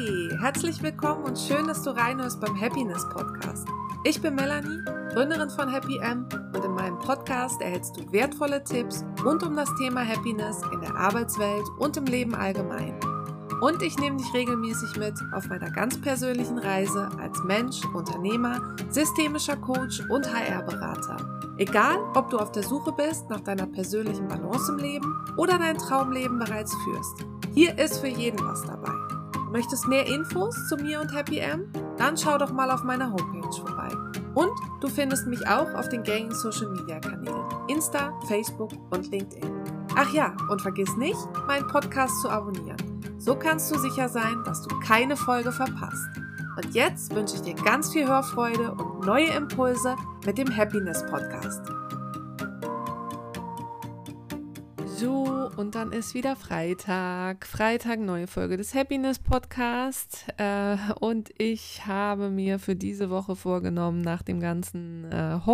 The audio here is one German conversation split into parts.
Hey, herzlich willkommen und schön, dass du reinhörst beim Happiness Podcast. Ich bin Melanie, Gründerin von Happy M, und in meinem Podcast erhältst du wertvolle Tipps rund um das Thema Happiness in der Arbeitswelt und im Leben allgemein. Und ich nehme dich regelmäßig mit auf meiner ganz persönlichen Reise als Mensch, Unternehmer, systemischer Coach und HR-Berater. Egal, ob du auf der Suche bist nach deiner persönlichen Balance im Leben oder dein Traumleben bereits führst. Hier ist für jeden was dabei. Du möchtest mehr Infos zu mir und Happy M? Dann schau doch mal auf meiner Homepage vorbei. Und du findest mich auch auf den gängigen Social Media Kanälen Insta, Facebook und LinkedIn. Ach ja, und vergiss nicht, meinen Podcast zu abonnieren. So kannst du sicher sein, dass du keine Folge verpasst. Und jetzt wünsche ich dir ganz viel Hörfreude und neue Impulse mit dem Happiness Podcast. So, und dann ist wieder Freitag. Freitag, neue Folge des Happiness Podcast. Und ich habe mir für diese Woche vorgenommen, nach dem ganzen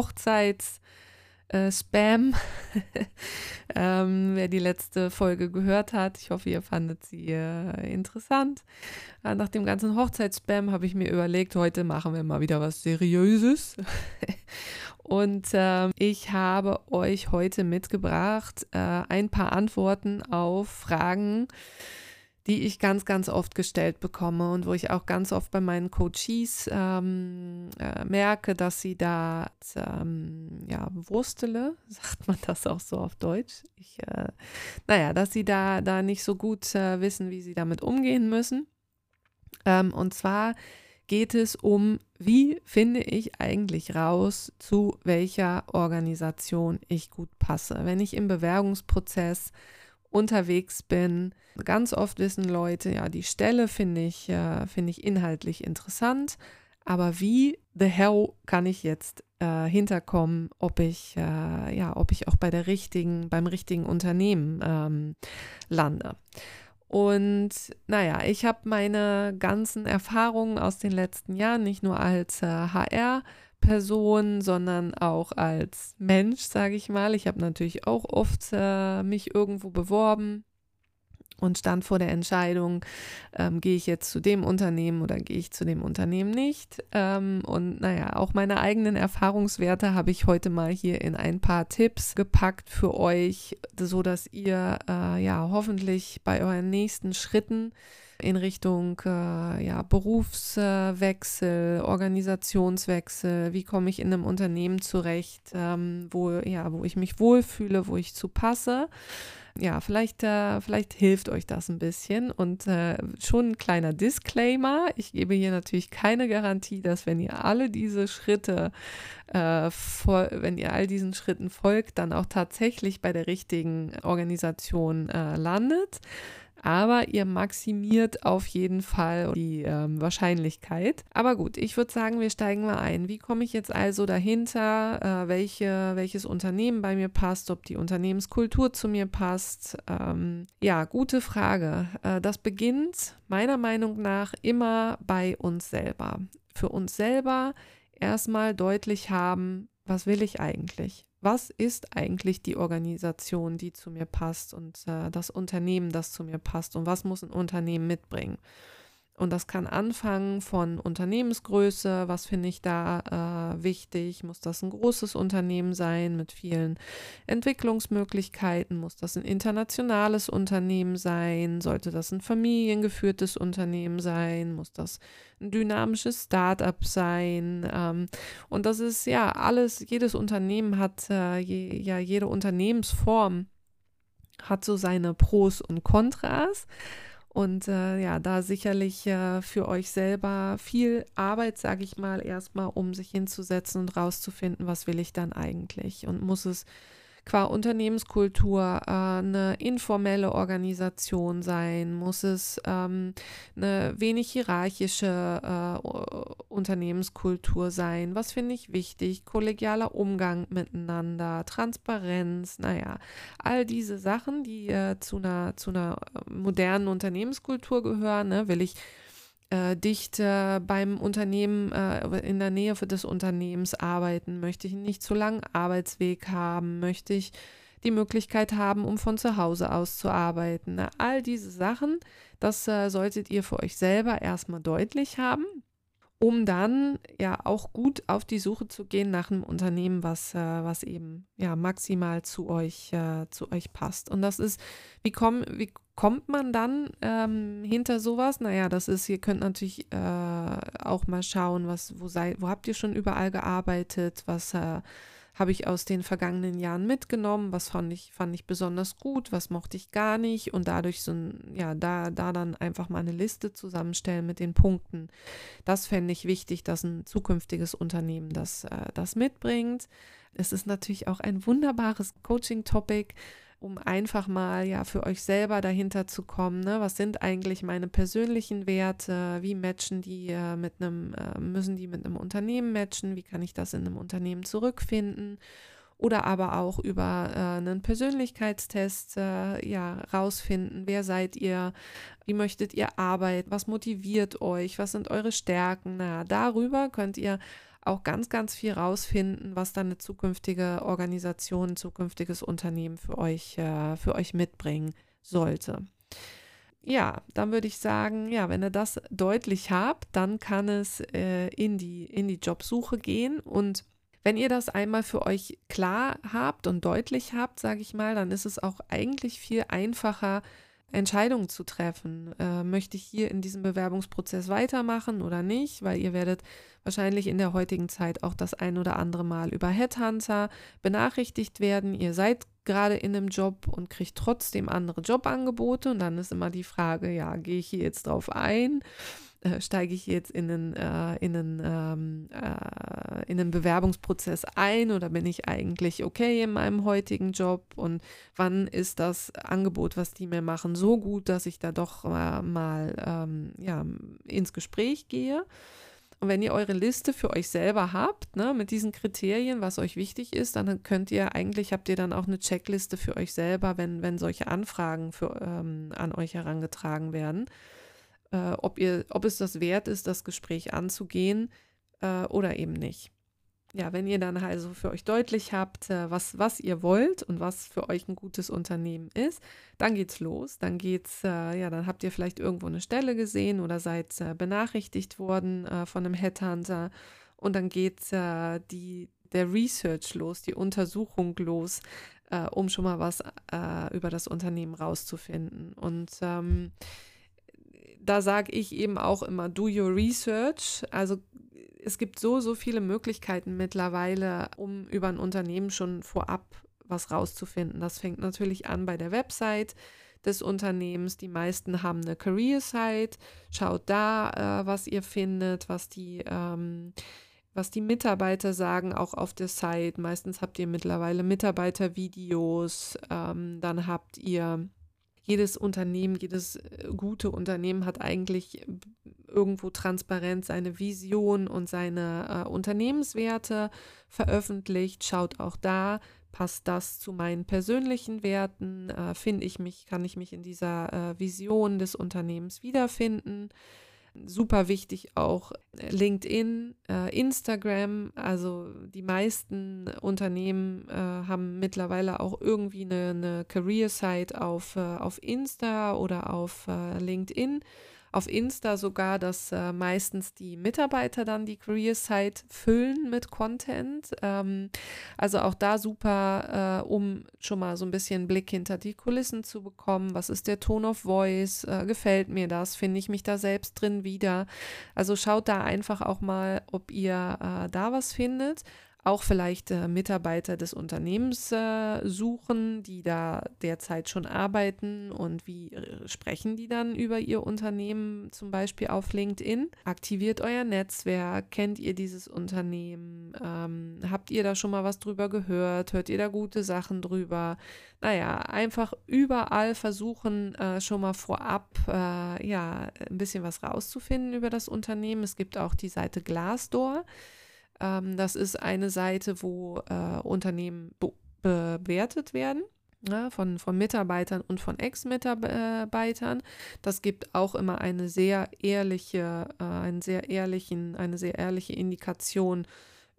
Spam, wer die letzte Folge gehört hat. Ich hoffe, ihr fandet sie interessant. Nach dem ganzen Hochzeitsspam habe ich mir überlegt, heute machen wir mal wieder was Seriöses. Und ich habe euch heute mitgebracht ein paar Antworten auf Fragen, die ich ganz, ganz oft gestellt bekomme und wo ich auch ganz oft bei meinen Coaches merke, dass sie da wurstele, sagt man das auch so auf Deutsch, dass sie da nicht so gut wissen, wie sie damit umgehen müssen. Und zwar geht es um, wie finde ich eigentlich raus, zu welcher Organisation ich gut passe. Wenn ich im Bewerbungsprozess unterwegs bin, ganz oft wissen Leute, ja, die Stelle finde ich inhaltlich interessant, aber wie the hell kann ich jetzt hinterkommen, ob ich auch beim richtigen Unternehmen lande. Und ich habe meine ganzen Erfahrungen aus den letzten Jahren nicht nur als HR-Person, sondern auch als Mensch, sage ich mal. Ich habe natürlich auch oft mich irgendwo beworben und stand vor der Entscheidung, gehe ich jetzt zu dem Unternehmen oder gehe ich zu dem Unternehmen nicht. Auch meine eigenen Erfahrungswerte habe ich heute mal hier in ein paar Tipps gepackt für euch, sodass ihr hoffentlich bei euren nächsten Schritten in Richtung Berufswechsel, Organisationswechsel, wie komme ich in einem Unternehmen zurecht, wo ich mich wohlfühle, wo ich zu passe. Ja, vielleicht hilft euch das ein bisschen und schon ein kleiner Disclaimer. Ich gebe hier natürlich keine Garantie, dass wenn ihr all diesen Schritten folgt, dann auch tatsächlich bei der richtigen Organisation landet. Aber ihr maximiert auf jeden Fall die Wahrscheinlichkeit. Aber gut, ich würde sagen, wir steigen mal ein. Wie komme ich jetzt also dahinter, welches Unternehmen bei mir passt, ob die Unternehmenskultur zu mir passt? Gute Frage. Das beginnt meiner Meinung nach immer bei uns selber. Für uns selber erstmal deutlich haben, was will ich eigentlich? Was ist eigentlich die Organisation, die zu mir passt und das Unternehmen, das zu mir passt und was muss ein Unternehmen mitbringen? Und das kann anfangen von Unternehmensgröße, was finde ich da wichtig? Muss das ein großes Unternehmen sein mit vielen Entwicklungsmöglichkeiten? Muss das ein internationales Unternehmen sein? Sollte das ein familiengeführtes Unternehmen sein? Muss das ein dynamisches Start-up sein? Und das ist ja alles, jedes Unternehmen hat, jede Unternehmensform hat so seine Pros und Kontras. Und da sicherlich für euch selber viel Arbeit, sage ich mal, erstmal, um sich hinzusetzen und rauszufinden, was will ich dann eigentlich? Und muss es qua Unternehmenskultur eine informelle Organisation sein? Muss es eine wenig hierarchische Unternehmenskultur sein? Was finde ich wichtig? Kollegialer Umgang miteinander, Transparenz, all diese Sachen, die zu einer modernen Unternehmenskultur gehören. Ne? Will ich dicht beim Unternehmen, in der Nähe des Unternehmens arbeiten? Möchte ich einen nicht zu langen Arbeitsweg haben? Möchte ich die Möglichkeit haben, um von zu Hause aus zu arbeiten. Na, all diese Sachen, das solltet ihr für euch selber erstmal deutlich haben, um dann ja auch gut auf die Suche zu gehen nach einem Unternehmen, was eben ja maximal zu euch passt. Und das ist, wie kommt man dann hinter sowas? Naja, das ist, ihr könnt natürlich auch mal schauen, wo habt ihr schon überall gearbeitet, was habe ich aus den vergangenen Jahren mitgenommen, was fand ich besonders gut, was mochte ich gar nicht, und dadurch da dann einfach mal eine Liste zusammenstellen mit den Punkten. Das fände ich wichtig, dass ein zukünftiges Unternehmen das mitbringt. Es ist natürlich auch ein wunderbares Coaching-Topic, um einfach mal ja für euch selber dahinter zu kommen, ne? Was sind eigentlich meine persönlichen Werte? Wie matchen die müssen die mit einem Unternehmen matchen? Wie kann ich das in einem Unternehmen zurückfinden? Oder aber auch über einen Persönlichkeitstest rausfinden, wer seid ihr, wie möchtet ihr arbeiten, was motiviert euch, was sind eure Stärken. Na, darüber könnt ihr auch ganz, ganz viel rausfinden, was dann eine zukünftige Organisation, ein zukünftiges Unternehmen für euch mitbringen sollte. Ja, dann würde ich sagen, ja, wenn ihr das deutlich habt, dann kann es in die Jobsuche gehen. Und wenn ihr das einmal für euch klar habt und deutlich habt, sage ich mal, dann ist es auch eigentlich viel einfacher, Entscheidungen zu treffen. Möchte ich hier in diesem Bewerbungsprozess weitermachen oder nicht? Weil ihr werdet wahrscheinlich in der heutigen Zeit auch das ein oder andere Mal über Headhunter benachrichtigt werden. Ihr seid gerade in einem Job und kriegt trotzdem andere Jobangebote. Und dann ist immer die Frage, ja, gehe ich hier jetzt drauf ein? Steige ich jetzt in einen Bewerbungsprozess ein, oder bin ich eigentlich okay in meinem heutigen Job, und wann ist das Angebot, was die mir machen, so gut, dass ich da doch ins Gespräch gehe? Und wenn ihr eure Liste für euch selber habt, ne, mit diesen Kriterien, was euch wichtig ist, dann habt ihr dann auch eine Checkliste für euch selber, wenn solche Anfragen an euch herangetragen werden. Ob es das wert ist, das Gespräch anzugehen oder eben nicht. Ja, wenn ihr dann also für euch deutlich habt, was ihr wollt und was für euch ein gutes Unternehmen ist, dann geht's los. Dann dann habt ihr vielleicht irgendwo eine Stelle gesehen oder seid benachrichtigt worden von einem Headhunter, und dann geht der Research los, die Untersuchung los, um schon mal was über das Unternehmen rauszufinden. Und da sage ich eben auch immer, do your research. Also es gibt so viele Möglichkeiten mittlerweile, um über ein Unternehmen schon vorab was rauszufinden. Das fängt natürlich an bei der Website des Unternehmens. Die meisten haben eine Career-Site. Schaut da, was ihr findet, was die Mitarbeiter sagen, auch auf der Site. Meistens habt ihr mittlerweile Mitarbeitervideos. Dann habt ihr jedes gute Unternehmen hat eigentlich irgendwo transparent seine Vision und seine Unternehmenswerte veröffentlicht. Schaut auch da, passt das zu meinen persönlichen Werten? Kann ich mich in dieser Vision des Unternehmens wiederfinden? Super wichtig auch LinkedIn, Instagram. Also die meisten Unternehmen haben mittlerweile auch irgendwie eine Career-Site auf Insta oder auf LinkedIn. Auf Insta sogar, dass meistens die Mitarbeiter dann die Career-Site füllen mit Content. Also auch da super, um schon mal so ein bisschen Blick hinter die Kulissen zu bekommen. Was ist der Tone of Voice? Gefällt mir das? Finde ich mich da selbst drin wieder? Also schaut da einfach auch mal, ob ihr da was findet. Auch vielleicht Mitarbeiter des Unternehmens suchen, die da derzeit schon arbeiten, und wie sprechen die dann über ihr Unternehmen, zum Beispiel auf LinkedIn. Aktiviert euer Netzwerk, kennt ihr dieses Unternehmen, habt ihr da schon mal was drüber gehört, hört ihr da gute Sachen drüber? Naja, einfach überall versuchen, schon mal vorab ein bisschen was rauszufinden über das Unternehmen. Es gibt auch die Seite Glassdoor. Das ist eine Seite, wo Unternehmen bewertet werden, ja, von Mitarbeitern und von Ex-Mitarbeitern. Das gibt auch immer eine sehr ehrliche Indikation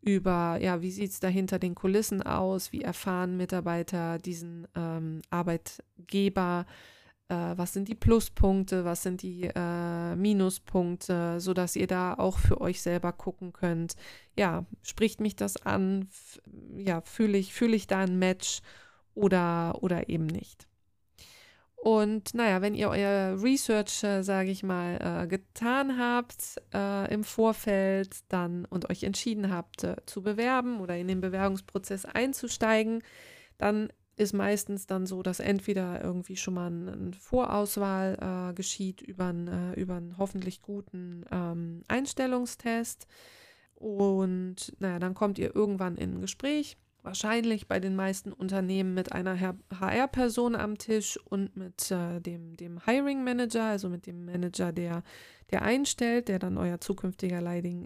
über, ja, wie sieht es da hinter den Kulissen aus, wie erfahren Mitarbeiter diesen Arbeitgeber, was sind die Pluspunkte, was sind die Minuspunkte, sodass ihr da auch für euch selber gucken könnt, ja, spricht mich das an, ja, fühle ich da ein Match oder eben nicht. Und naja, wenn ihr euer Research, sage ich mal, getan habt im Vorfeld dann und euch entschieden habt, zu bewerben oder in den Bewerbungsprozess einzusteigen, dann ist meistens dann so, dass entweder irgendwie schon mal eine Vorauswahl geschieht über einen hoffentlich guten Einstellungstest. Und naja, dann kommt ihr irgendwann in ein Gespräch. Wahrscheinlich bei den meisten Unternehmen mit einer HR-Person am Tisch und mit dem Hiring Manager, also mit dem Manager, der einstellt, der dann euer zukünftiger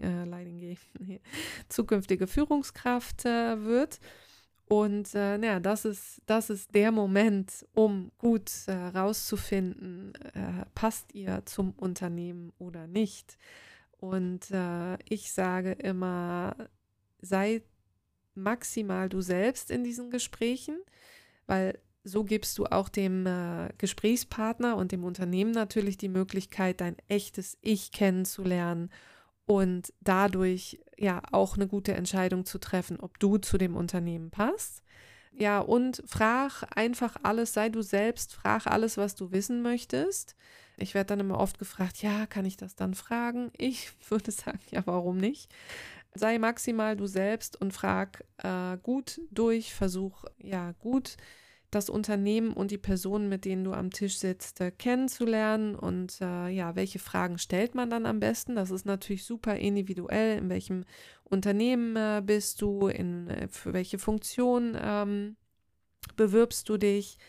zukünftige Führungskraft wird. Und naja, das ist der Moment, um gut rauszufinden, passt ihr zum Unternehmen oder nicht. Und ich sage immer, sei maximal du selbst in diesen Gesprächen, weil so gibst du auch dem Gesprächspartner und dem Unternehmen natürlich die Möglichkeit, dein echtes Ich kennenzulernen und dadurch ja auch eine gute Entscheidung zu treffen, ob du zu dem Unternehmen passt. Ja, und frag einfach alles, sei du selbst, frag alles, was du wissen möchtest. Ich werde dann immer oft gefragt, ja, kann ich das dann fragen? Ich würde sagen, ja, warum nicht? Sei maximal du selbst und frag gut durch, versuch ja gut das Unternehmen und die Personen, mit denen du am Tisch sitzt, kennenzulernen und ja, welche Fragen stellt man dann am besten? Das ist natürlich super individuell, in welchem Unternehmen bist du, für welche Funktion bewirbst du dich,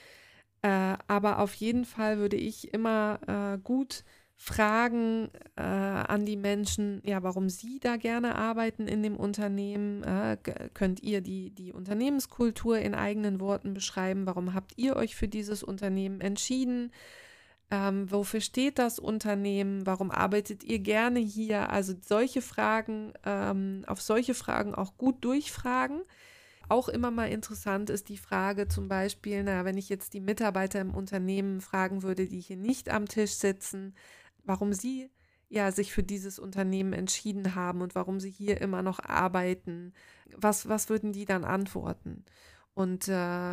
aber auf jeden Fall würde ich immer gut fragen an die Menschen, ja, warum sie da gerne arbeiten in dem Unternehmen. Könnt ihr die Unternehmenskultur in eigenen Worten beschreiben? Warum habt ihr euch für dieses Unternehmen entschieden? Wofür steht das Unternehmen? Warum arbeitet ihr gerne hier? Also solche Fragen, auf solche Fragen auch gut durchfragen. Auch immer mal interessant ist die Frage zum Beispiel, wenn ich jetzt die Mitarbeiter im Unternehmen fragen würde, die hier nicht am Tisch sitzen, warum sie ja sich für dieses Unternehmen entschieden haben und warum sie hier immer noch arbeiten, was würden die dann antworten? Und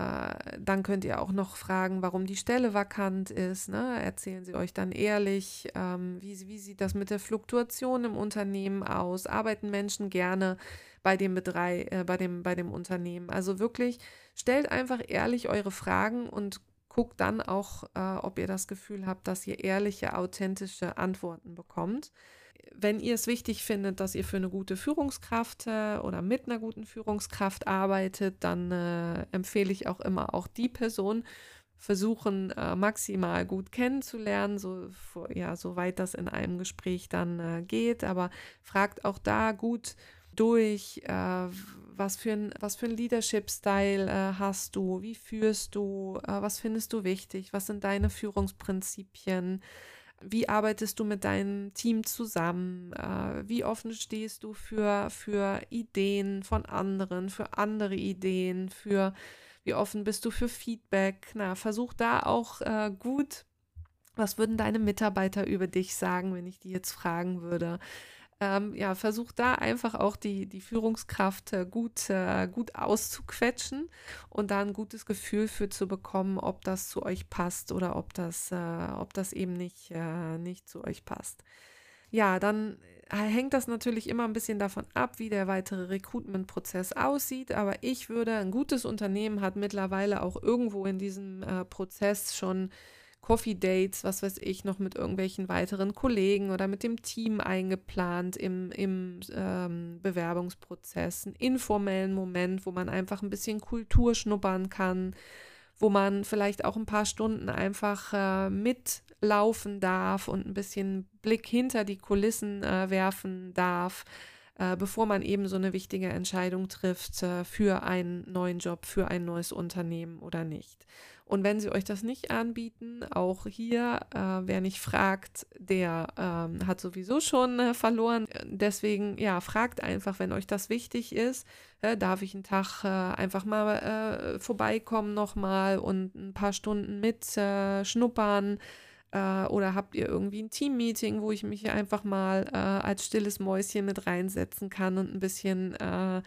dann könnt ihr auch noch fragen, warum die Stelle vakant ist. Ne? Erzählen sie euch dann ehrlich, wie sieht das mit der Fluktuation im Unternehmen aus? Arbeiten Menschen gerne bei dem Unternehmen? Also wirklich, stellt einfach ehrlich eure Fragen und guckt dann auch, ob ihr das Gefühl habt, dass ihr ehrliche, authentische Antworten bekommt. Wenn ihr es wichtig findet, dass ihr für eine gute Führungskraft oder mit einer guten Führungskraft arbeitet, dann empfehle ich auch immer auch die Person versuchen, maximal gut kennenzulernen, soweit das in einem Gespräch dann geht. Aber fragt auch da gut durch, was für ein Leadership-Style hast du, wie führst du, was findest du wichtig, was sind deine Führungsprinzipien, wie arbeitest du mit deinem Team zusammen, wie offen stehst du für Ideen von anderen, für andere Ideen, wie offen bist du für Feedback. Versuch da auch gut, was würden deine Mitarbeiter über dich sagen, wenn ich die jetzt fragen würde. Versuch da einfach auch die Führungskraft gut auszuquetschen und da ein gutes Gefühl für zu bekommen, ob das zu euch passt oder ob das eben nicht zu euch passt. Ja, dann hängt das natürlich immer ein bisschen davon ab, wie der weitere Recruitment-Prozess aussieht, aber ein gutes Unternehmen hat mittlerweile auch irgendwo in diesem Prozess schon Coffee Dates, was weiß ich, noch mit irgendwelchen weiteren Kollegen oder mit dem Team eingeplant im Bewerbungsprozess, einen informellen Moment, wo man einfach ein bisschen Kultur schnuppern kann, wo man vielleicht auch ein paar Stunden einfach mitlaufen darf und ein bisschen Blick hinter die Kulissen werfen darf. bevor man eben so eine wichtige Entscheidung trifft für einen neuen Job, für ein neues Unternehmen oder nicht. Und wenn sie euch das nicht anbieten, auch hier, wer nicht fragt, der hat sowieso schon verloren. Deswegen, ja, fragt einfach, wenn euch das wichtig ist, darf ich einen Tag einfach mal vorbeikommen nochmal und ein paar Stunden mit schnuppern. Oder habt ihr irgendwie ein Team-Meeting, wo ich mich hier einfach mal als stilles Mäuschen mit reinsetzen kann und ein bisschen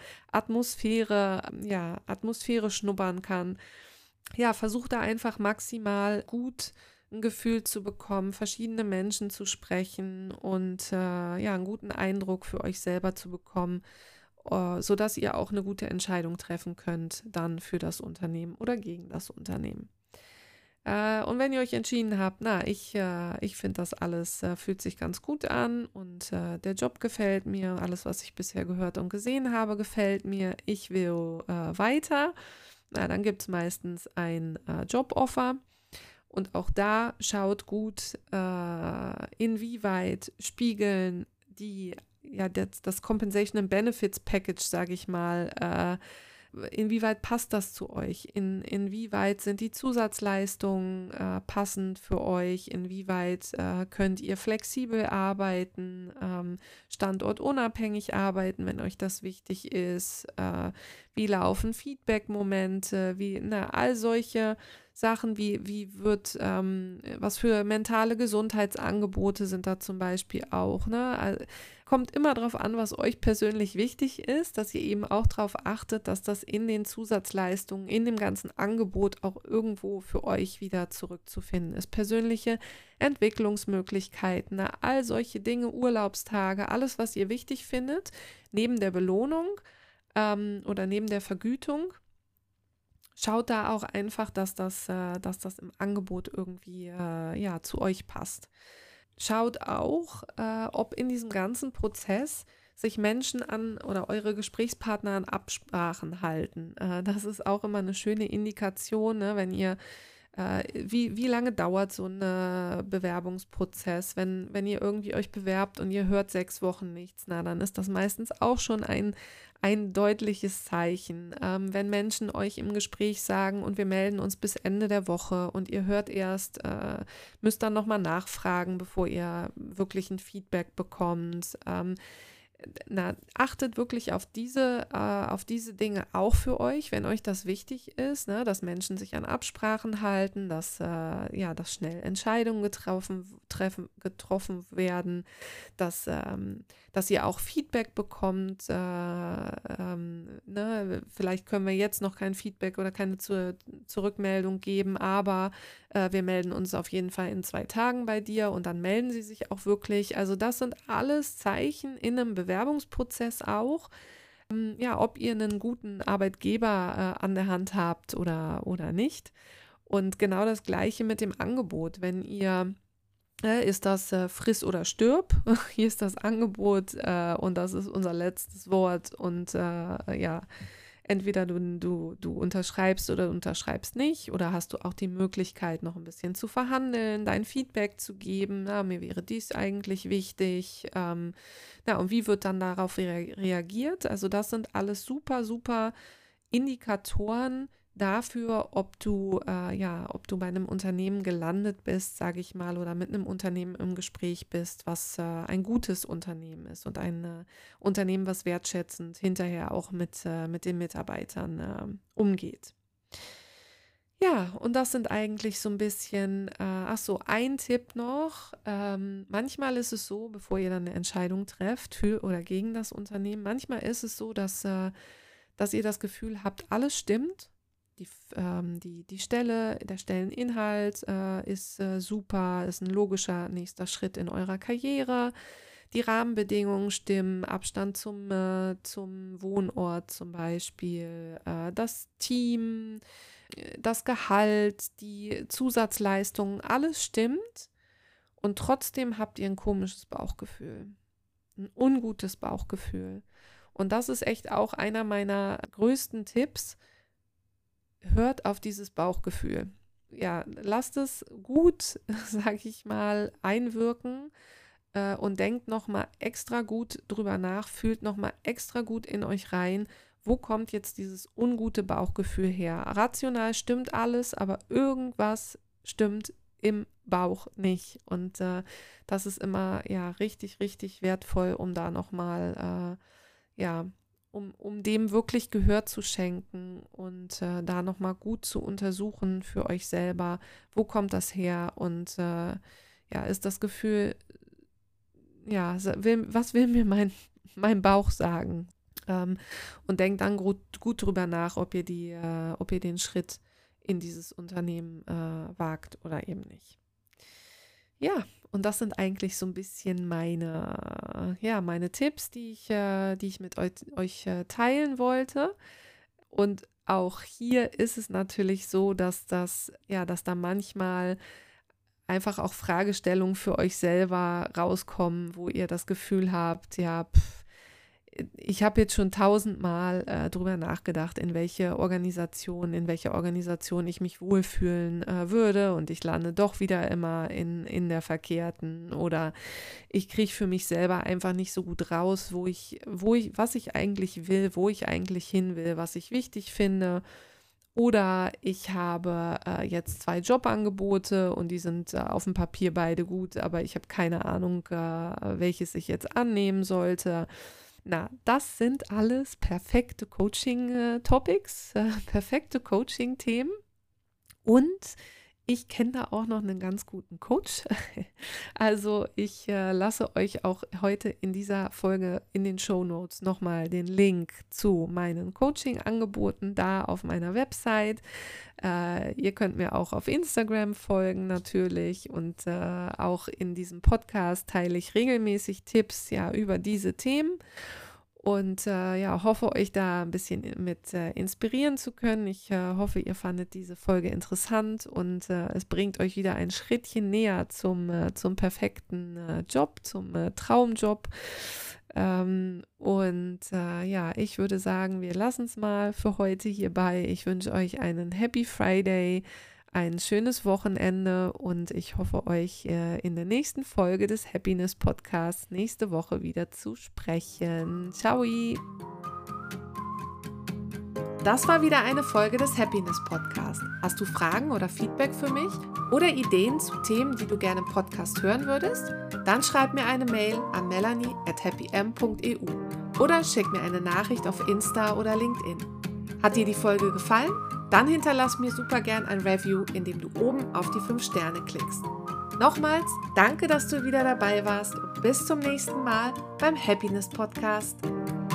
Atmosphäre schnuppern kann. Ja, versucht da einfach maximal gut ein Gefühl zu bekommen, verschiedene Menschen zu sprechen und einen guten Eindruck für euch selber zu bekommen, sodass ihr auch eine gute Entscheidung treffen könnt dann für das Unternehmen oder gegen das Unternehmen. Und wenn ihr euch entschieden habt, ich finde das alles fühlt sich ganz gut an und der Job gefällt mir, alles, was ich bisher gehört und gesehen habe, gefällt mir, ich will weiter, dann gibt es meistens ein Joboffer und auch da schaut gut, inwieweit spiegeln das Compensation and Benefits Package, sage ich mal, inwieweit passt das zu euch? Inwieweit sind die Zusatzleistungen passend für euch? Inwieweit könnt ihr flexibel arbeiten, standortunabhängig arbeiten, wenn euch das wichtig ist? Wie laufen Feedback-Momente? All solche Sachen, was für mentale Gesundheitsangebote sind da zum Beispiel auch, ne? Also, kommt immer darauf an, was euch persönlich wichtig ist, dass ihr eben auch darauf achtet, dass das in den Zusatzleistungen, in dem ganzen Angebot auch irgendwo für euch wieder zurückzufinden ist. Persönliche Entwicklungsmöglichkeiten, all solche Dinge, Urlaubstage, alles, was ihr wichtig findet, neben der Belohnung oder neben der Vergütung. Schaut da auch einfach, dass das im Angebot irgendwie zu euch passt. Schaut auch, ob in diesem ganzen Prozess sich Menschen an oder eure Gesprächspartner an Absprachen halten. Das ist auch immer eine schöne Indikation, ne, wenn ihr wie lange dauert so ein Bewerbungsprozess? Wenn ihr irgendwie euch bewerbt und ihr hört 6 Wochen nichts, dann ist das meistens auch schon ein deutliches Zeichen. Wenn Menschen euch im Gespräch sagen und wir melden uns bis Ende der Woche und ihr hört erst, müsst dann nochmal nachfragen, bevor ihr wirklich ein Feedback bekommt. Achtet wirklich auf diese Dinge auch für euch, wenn euch das wichtig ist, ne, dass Menschen sich an Absprachen halten, dass schnell Entscheidungen getroffen werden, dass ihr auch Feedback bekommt. Vielleicht können wir jetzt noch kein Feedback oder keine Zurückmeldung geben, aber wir melden uns auf jeden Fall in 2 Tagen bei dir und dann melden sie sich auch wirklich. Also das sind alles Zeichen in einem Bewerbungsprozess auch, ob ihr einen guten Arbeitgeber an der Hand habt oder nicht. Und genau das Gleiche mit dem Angebot. Wenn ihr ist das friss oder stirb? Hier ist das Angebot und das ist unser letztes Wort und entweder du unterschreibst oder du unterschreibst nicht oder hast du auch die Möglichkeit, noch ein bisschen zu verhandeln, dein Feedback zu geben, mir wäre dies eigentlich wichtig, und wie wird dann darauf reagiert? Also das sind alles super, super Indikatoren dafür, ob du bei einem Unternehmen gelandet bist, sage ich mal, oder mit einem Unternehmen im Gespräch bist, was ein gutes Unternehmen ist und ein Unternehmen, was wertschätzend hinterher auch mit den Mitarbeitern umgeht. Ja, und das sind eigentlich so ein bisschen, ein Tipp noch. Manchmal ist es so, bevor ihr dann eine Entscheidung trefft für oder gegen das Unternehmen, manchmal ist es so, dass ihr das Gefühl habt, alles stimmt. Die Stelle, der Stelleninhalt ist super, ist ein logischer nächster Schritt in eurer Karriere. Die Rahmenbedingungen stimmen, Abstand zum Wohnort zum Beispiel, das Team, das Gehalt, die Zusatzleistungen, alles stimmt. Und trotzdem habt ihr ein komisches Bauchgefühl, ein ungutes Bauchgefühl. Und das ist echt auch einer meiner größten Tipps. Hört auf dieses Bauchgefühl. Ja, lasst es gut, sage ich mal, einwirken. und denkt nochmal extra gut drüber nach, fühlt nochmal extra gut in euch rein, wo kommt jetzt dieses ungute Bauchgefühl her? Rational stimmt alles, aber irgendwas stimmt im Bauch nicht. Und das ist immer ja richtig, richtig wertvoll, um da nochmal, um dem wirklich Gehör zu schenken und da nochmal gut zu untersuchen für euch selber, wo kommt das her und ist das Gefühl, was will mir mein Bauch sagen? Und denkt dann gut drüber nach, ob ihr den Schritt in dieses Unternehmen wagt oder eben nicht. Ja, und das sind eigentlich so ein bisschen meine Tipps, die ich mit euch teilen wollte. Und auch hier ist es natürlich so, dass dass da manchmal einfach auch Fragestellungen für euch selber rauskommen, wo ihr das Gefühl habt, ich habe jetzt schon 1000-mal drüber nachgedacht, in welcher Organisation ich mich wohlfühlen würde und ich lande doch wieder immer in der verkehrten oder ich kriege für mich selber einfach nicht so gut raus, was ich eigentlich will, wo ich eigentlich hin will, was ich wichtig finde. Oder ich habe jetzt 2 Jobangebote und die sind auf dem Papier beide gut, aber ich habe keine Ahnung, welches ich jetzt annehmen sollte. Na, das sind alles perfekte Coaching-Topics, perfekte Coaching-Themen. Und ich kenne da auch noch einen ganz guten Coach. Also ich lasse euch auch heute in dieser Folge in den Shownotes nochmal den Link zu meinen Coaching-Angeboten da auf meiner Website. Ihr könnt mir auch auf Instagram folgen natürlich und auch in diesem Podcast teile ich regelmäßig Tipps über diese Themen. Und hoffe euch da ein bisschen mit inspirieren zu können. Ich hoffe, ihr fandet diese Folge interessant und es bringt euch wieder ein Schrittchen näher zum perfekten Job, zum Traumjob. Ich würde sagen, wir lassen es mal für heute hierbei. Ich wünsche euch einen Happy Friday, ein schönes Wochenende und ich hoffe, euch in der nächsten Folge des Happiness Podcasts nächste Woche wieder zu sprechen. Ciao! Das war wieder eine Folge des Happiness Podcasts. Hast du Fragen oder Feedback für mich oder Ideen zu Themen, die du gerne im Podcast hören würdest? Dann schreib mir eine Mail an melanie@happym.eu oder schick mir eine Nachricht auf Insta oder LinkedIn. Hat dir die Folge gefallen? Dann hinterlass mir super gern ein Review, indem du oben auf die 5 Sterne klickst. Nochmals, danke, dass du wieder dabei warst und bis zum nächsten Mal beim Happiness Podcast.